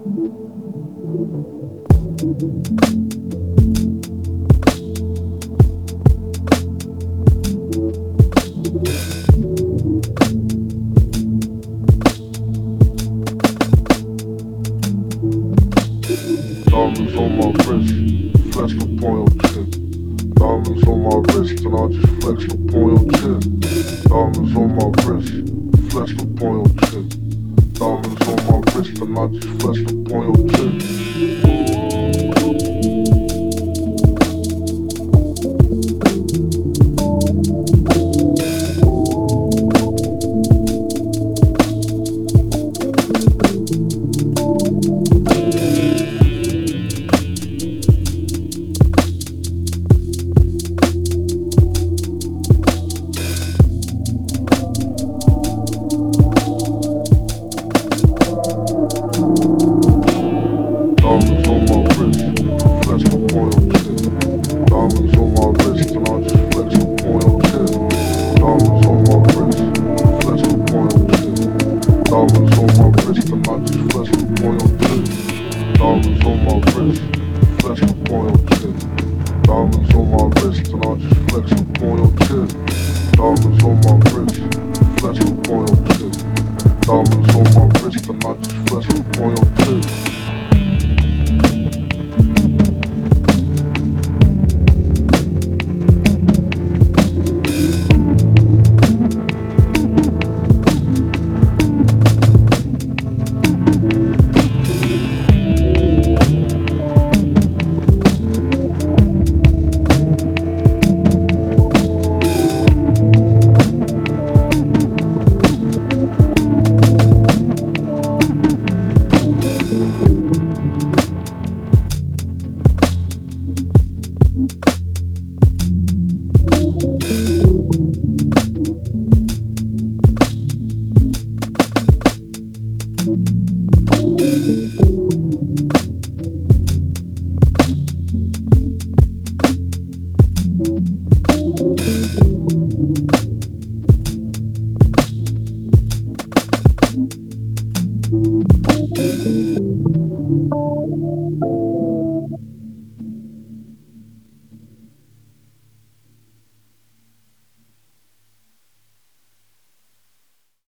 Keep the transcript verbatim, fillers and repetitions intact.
Diamonds on my wrist, flexed upon your chin. Diamonds on my wrist and I just flexed upon your chin. Diamonds on my wrist, flexed upon your chin. Diamonds on my wrist and I just flexed upon your chin. Diamonds on my wrist, flexed upon your chin. Diamonds on my wrist and I just flexed upon your chin. Diamonds on my wrist, flexed upon your chin. Diamonds on my wrist and I just flexed upon your chin. Diamonds on my wrist, flexed upon your chin. Diamonds on my wrist and I just flexed upon your chin. Diamonds on my wrist, flexed upon your chin. Diamonds on my wrist and I just flexed upon your chin. Thank you.